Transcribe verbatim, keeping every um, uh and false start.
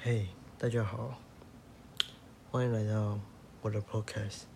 嘿，大家好，歡迎來到我的 podcast。